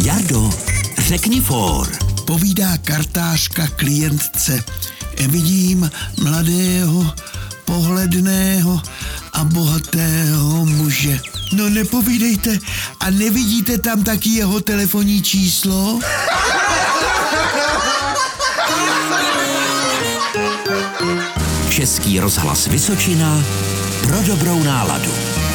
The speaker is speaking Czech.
Jardo, řekni for. Povídá kartářka klientce. Vidím mladého, pohledného a bohatého muže. No nepovídejte, a nevidíte tam taky jeho telefonní číslo? Český rozhlas Vysočina pro dobrou náladu.